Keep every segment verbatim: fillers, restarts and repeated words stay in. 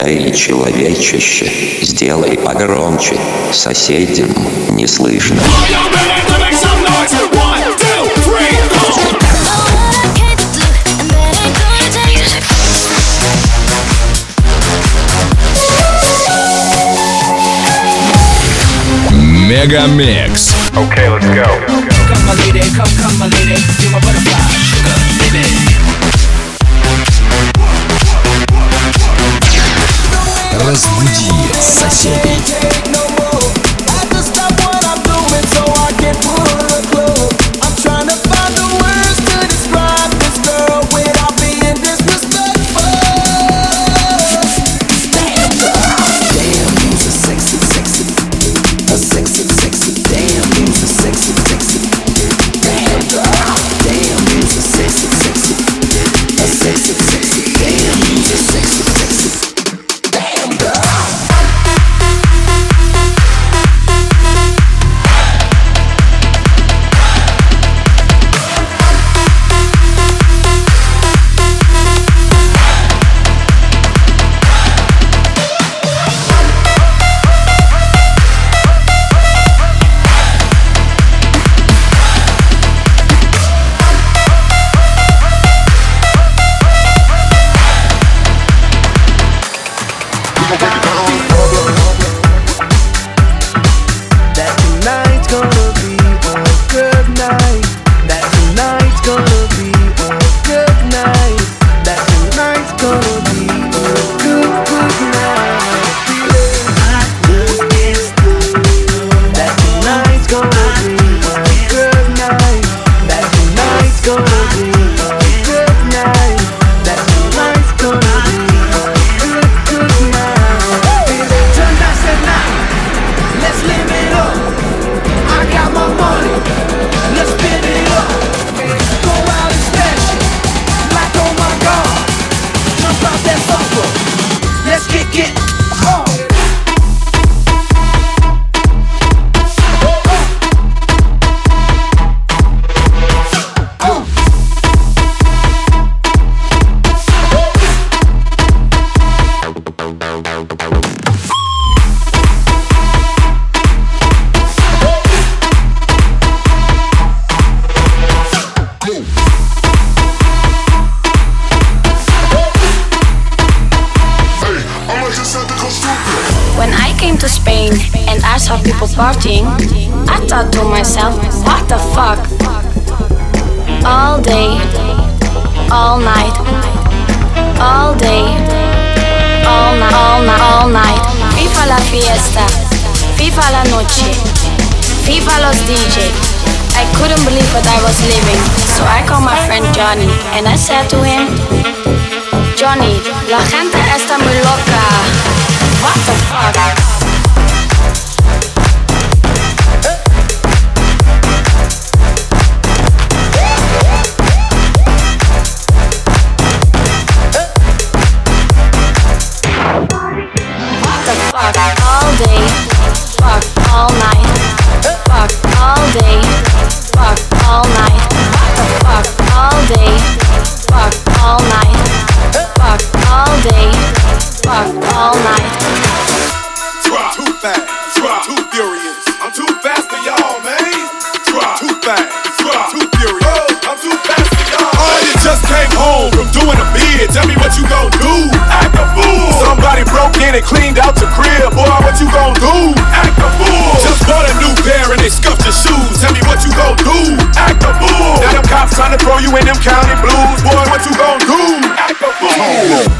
Эй, человечище, сделай погромче, соседям не слышно. Мегамикс. Okay, let's go. Come my lady, come, come my lady, you're my butterfly, sugar, baby. Разбуди соседей. Partying, I thought to myself, what the fuck? All day, all night, all day, all night, all night, all night. Viva la fiesta, viva la noche, viva los D J. I couldn't believe what I was living, so I called my friend Johnny and I said to him, Johnny, la gente está muy loca. What the fuck? All day, fuck all night, fuck all day, fuck all night, fuck all day, fuck all night, fuck all day, fuck all night. Drop too fast, drop too furious. I'm too fast for y'all, man. Drop too fast, drop too furious. Oh, I'm too fast for y'all. Oh, you just came home from doing a bid. Tell me what you gon' do? Act a fool. Somebody broke in and cleaned out your crib. Boy, what you gon' do? Act a fool. Just bought a new pair and they scuffed your shoes. Tell me what you gon' do? Act a fool. Now them cops trying to throw you in them county blues. Boy, what you gon' do? Act a fool.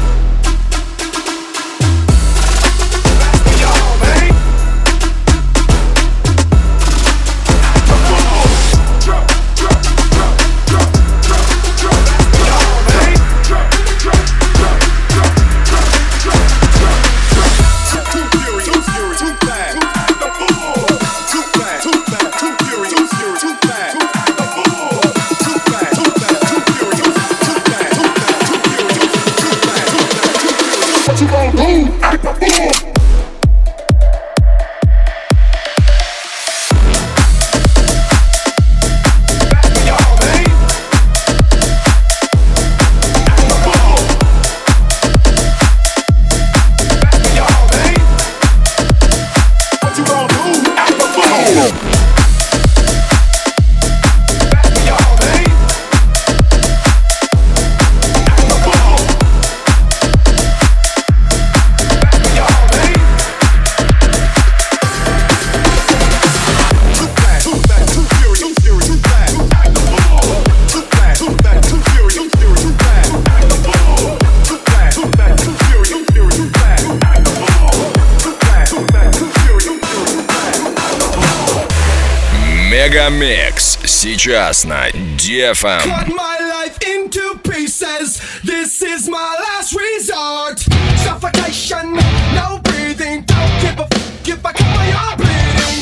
Мегамикс сейчас на ди эф эм. Cut my life into pieces. This is my last resort. Suffocation, no breathing. Don't give a f if I come you're bleeding.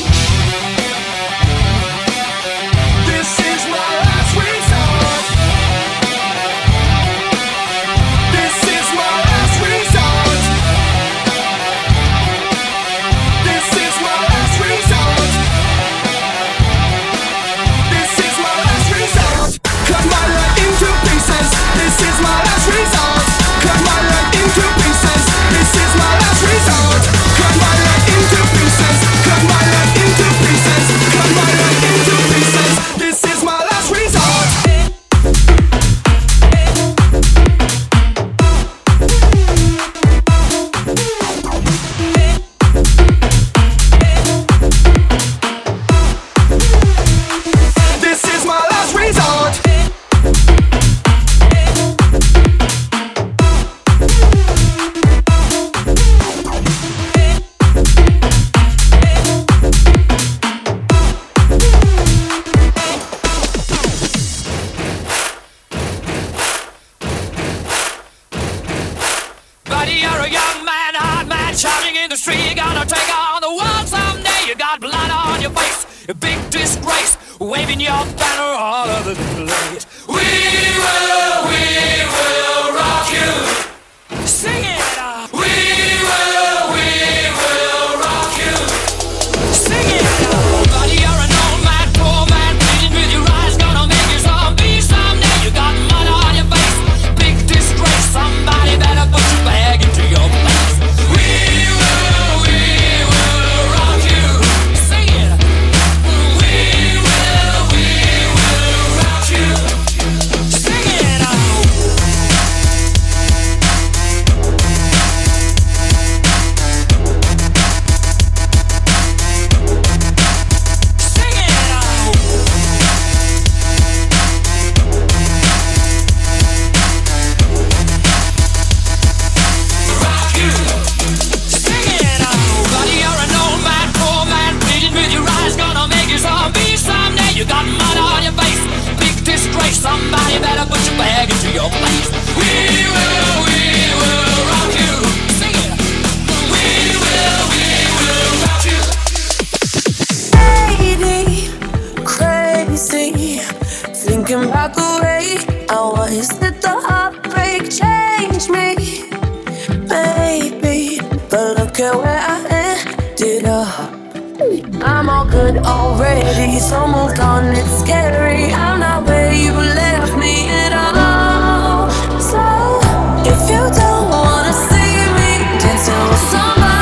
This is my last resort. This is my last resort. This is my last resort. This is my last resort. Cut my life into pieces. This is my last resort. Cut my life into pieces. This is my last resort. Cut my life into pieces. Cut my life into pieces. Cut my life into pieces. This is my last resort. This is my last resort. Buddy, you're a young man, hard man, shouting in the street. You're gonna take on the world someday. You got blood on your face, a big disgrace, waving your banner all over the place. We will, we will rock you. Sing it out. We will, we will rock you. Sing it out. Buddy, you're an old man, poor man, bleeding with your eyes, gonna make you zombie someday. You got mud on your face, big disgrace. Somebody better put your bag into your place. We will, we will rock you. Sing it. We will, we will rock you. Sing it out. Sing it out. Rock you. Sing it out. Buddy, you're an old man, poor man, bleeding with your eyes, gonna make you zombie someday. You got mud on your face, big disgrace. Somebody better put your bag into your place. We will, we will rock you. Sing it. We will, we will rock you. Lady, crazy, thinking about the way I was. Did the heartbreak change me, baby? But look at where I ended up. I'm all good already, so moved on. It's scary. I'm not where you left me at all. So if you don't wanna see me dancing with somebody.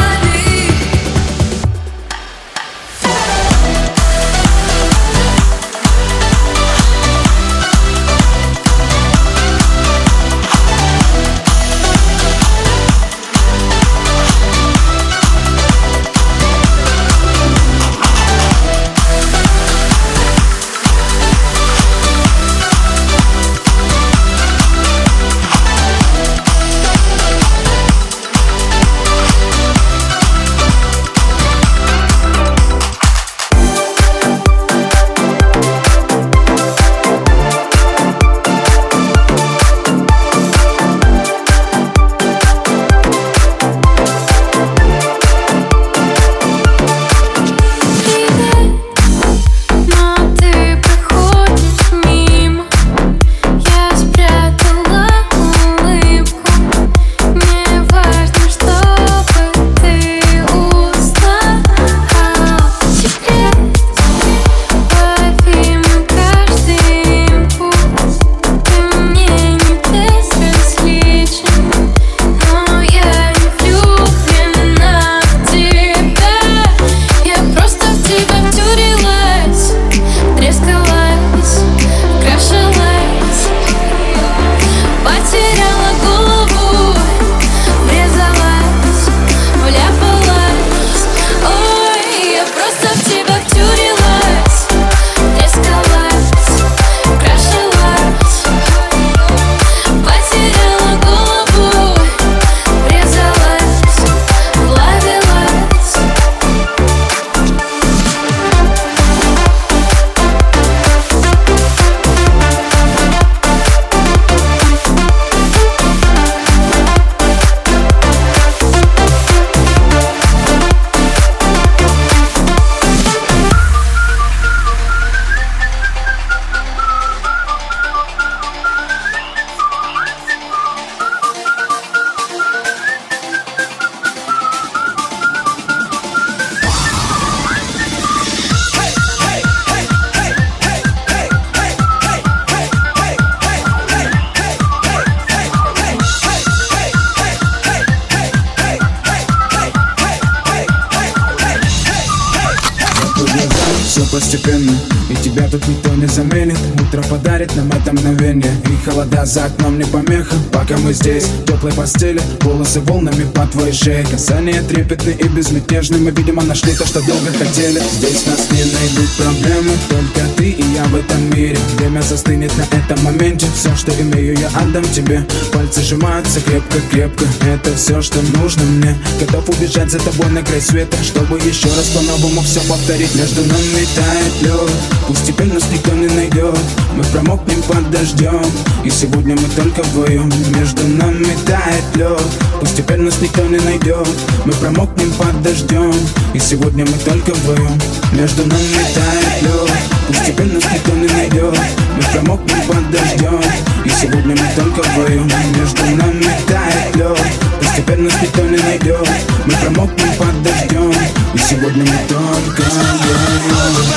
постепенно, и тебя тут никто не заменит. Утро подарит нам это мгновение, и холода за окном не помеха. Пока мы здесь, в теплой постели, волосы волнами по твоей шее. Касания трепетны и безмятежны, мы, видимо, нашли то, что долго хотели. Здесь нас не найдут проблемы, только ты и я в этом мире. Время застынет на этом моменте, все, что имею, я отдам тебе. Пальцы сжимаются крепко-крепко, это все, что нужно мне. Готов убежать за тобой на край света, чтобы еще раз по-новому все повторить. Между нами тает лед, пусть теперь нас никто не найдет. Мы промокнем под дождем, и сегодня мы только вдвоем. Между нами тает лед, пусть теперь нас никто не найдет. Мы промокнем под дождем, и сегодня мы только вдвоем. Между нами тает лед, пусть теперь нас никто не найдет. Мы промокнем под дождем, и сегодня мы только вдвоем. Между нами тает лед, пусть теперь нас никто не найдет. Мы промокнем под дождем, и сегодня мы только вдвоем.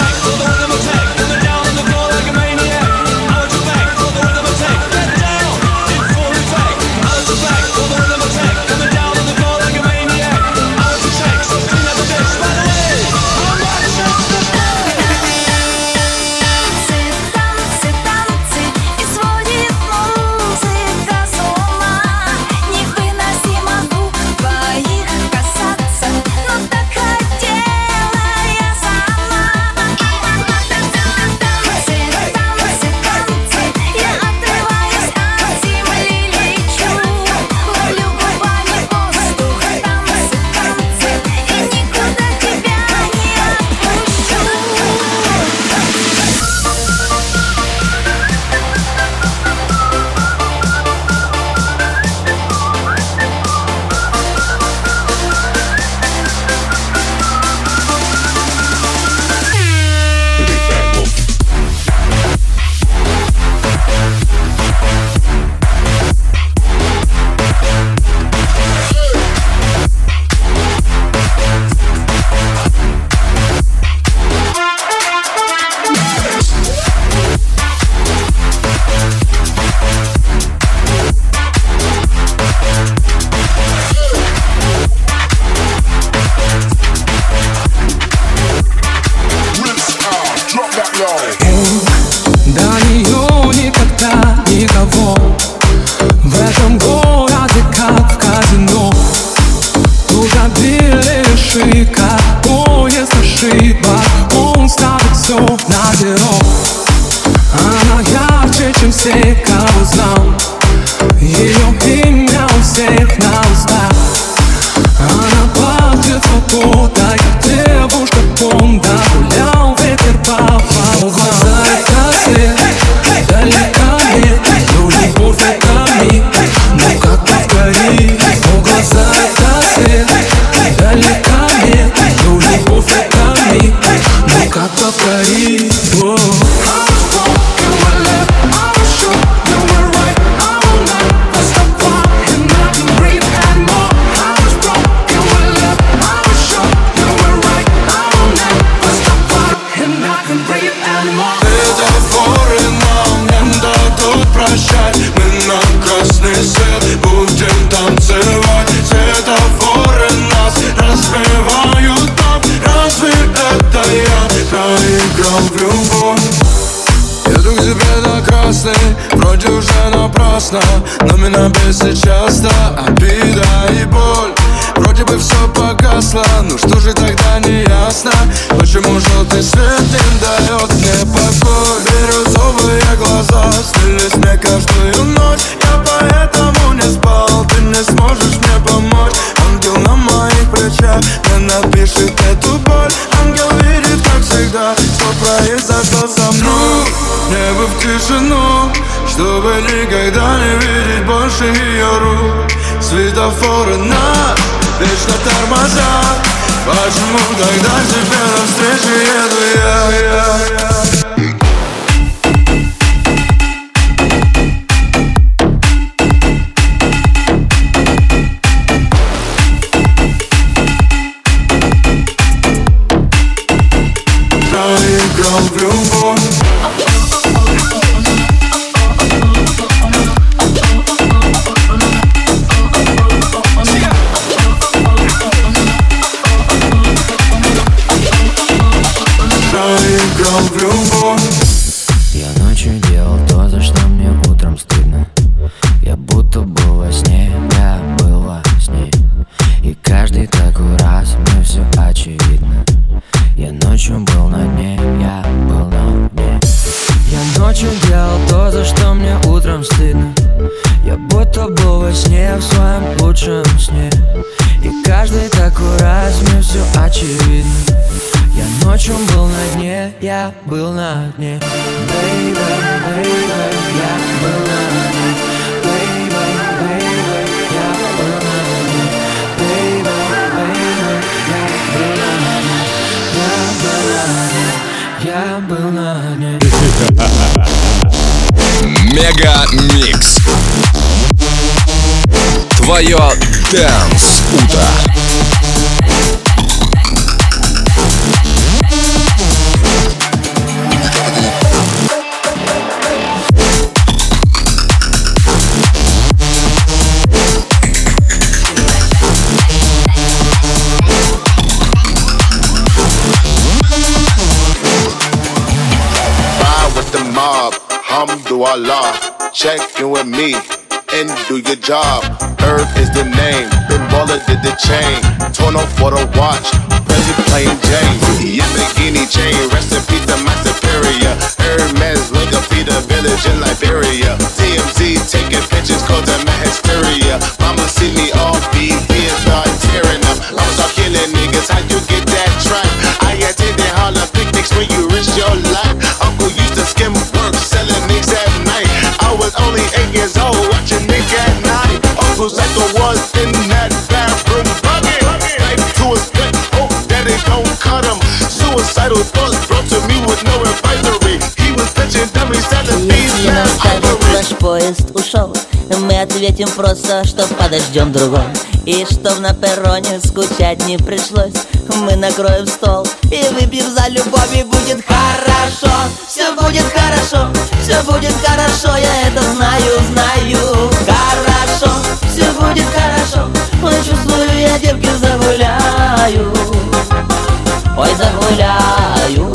Но меня бесит часто обида и боль. Вроде бы все погасло, ну что же тогда не ясно? Почему желтый свет не дает мне покой? Бирюзовые глаза снились мне каждую ночь. Я поэтому не спал, ты не сможешь мне помочь. Ангел на моих плечах не напишет эту боль. Ангел видит, как всегда, что произошло со мной. Небо в тишину, чтобы никогда не видеть больше ее рук. Светофоры нас вечно тормозят. Почему тогда тебе навстречу еду я, я, я? Проиграл в любовь. утром стыдно. Я будто был во сне, в своем лучшем сне. И каждый такой раз мне все очевидно. Я ночью был на дне, я был на дне. Baby, baby, я был на дне. Baby, baby, я был на дне. Baby, baby, я был на дне. Я был на дне. Я был на дне. Мега Микс. Твое Dance утро. Alhamdulillah, check in with me and do your job. Earth is the name, Ben Baller did the chain. Torn off for the watch, Prezi plain Jane. Yamagini chain, rest in peace to my superior. Hermes, look up the village in Liberia. T M Z taking pictures, cause I'm a hysteria. Mama see me off B B and start tearing up. I was all killing niggas, how you get that track? I attended Harlem picnics when you risk your life. Uncle used to skim work, selling nicks at night. I was only eight years old, watching Nick at night. Uncle Psycho was in that bathroom bucket. Knife to his gut, hope that it don't cut him. Suicidal thoughts brought to me with no advisory. He was pitching dummies, selling these man Наш поезд ушел, мы ответим просто, что подождем другой. И чтоб на перроне скучать не пришлось, мы накроем стол и выпьем за любовь, и будет хорошо. Все будет хорошо, все будет хорошо, я это знаю, знаю. Хорошо, все будет хорошо, ой, чувствую, я девки загуляю. Ой, загуляю.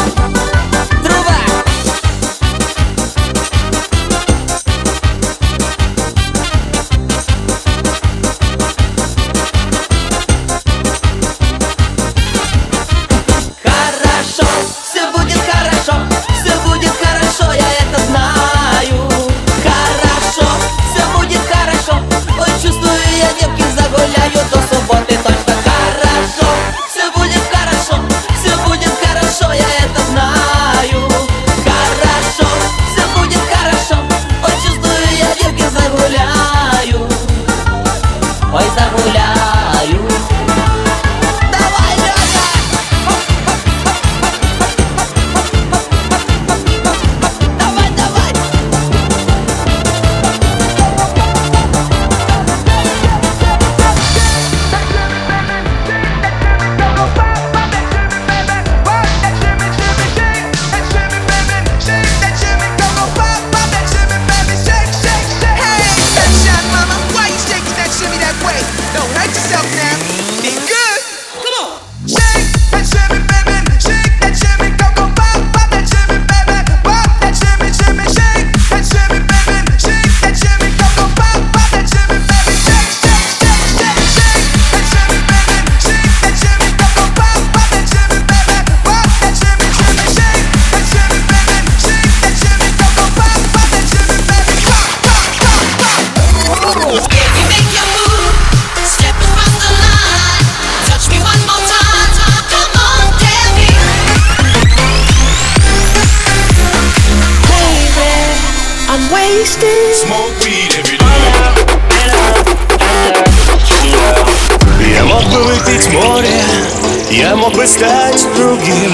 Я мог бы выпить море, я мог бы стать другим.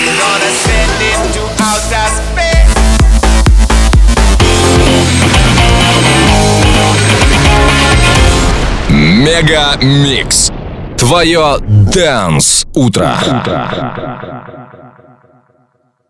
Мега Микс. Твое Dance утро.